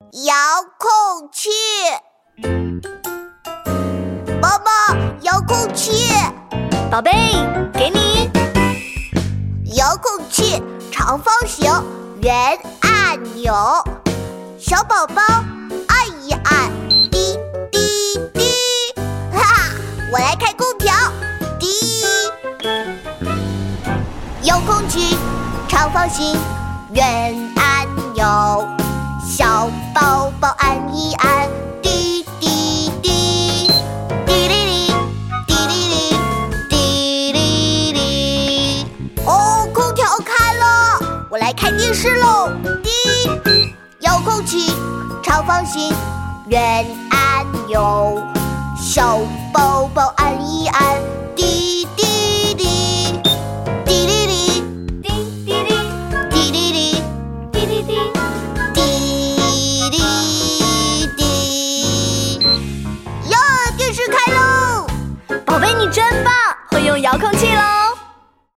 遥控器。妈妈，遥控器。 宝贝，给你。 遥控器长方形，圆按钮。小宝宝按一按，滴滴滴，哈哈，我来开空调，滴。遥控器长方形，圆按钮。小宝宝按一按，滴滴滴，滴哩哩，滴哩哩，滴哩哩。哦，空调开了，我来看电视喽。滴，遥控器长方形，圆按钮。小宝宝按一按，滴滴滴，滴哩哩， 滴滴哩， 滴哩哩， 滴滴滴。 电视开喽！ 宝贝，你真棒，会用遥控器喽！